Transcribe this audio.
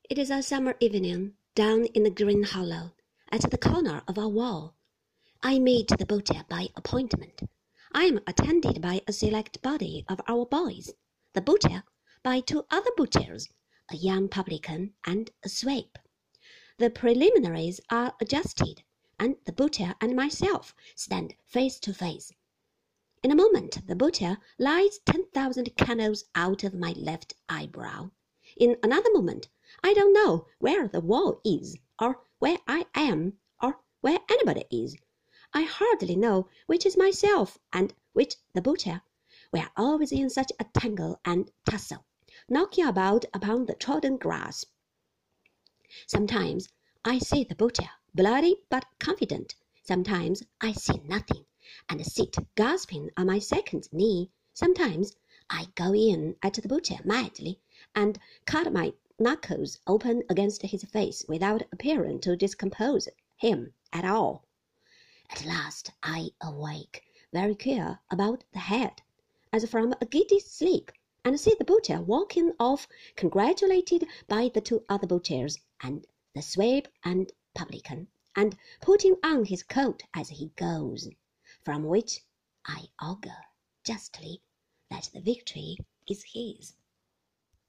It is a summer evening, down in the green hollow, at the corner of our wall. I meet the butcher by appointment. I am attended by a select body of our boys, the butcher by two other butchers, a young publican and a swape. The preliminaries are adjusted, and the butcher and myself stand face to face. In a moment the butcher lights 10,000 candles out of my left eyebrow. In another moment I don't know where the wall is, or where I am, or where anybody is. I hardly know which is myself and which the butcher. We are always in such a tangle and tussle, knocking about upon the trodden grass. Sometimes I see the butcher, bloody but confident. Sometimes I see nothing, and sit gasping on my second knee. Sometimes I go in at the butcher madly, and cut my knuckles open against his face without appearing to discompose him at all. At last I awake, very queer about the head, as from a giddy sleep, and see the butcher walking off, congratulated by the two other butchers, and the swabe and publican, and putting on his coat as he goes, from which I augur justly that the victory is his.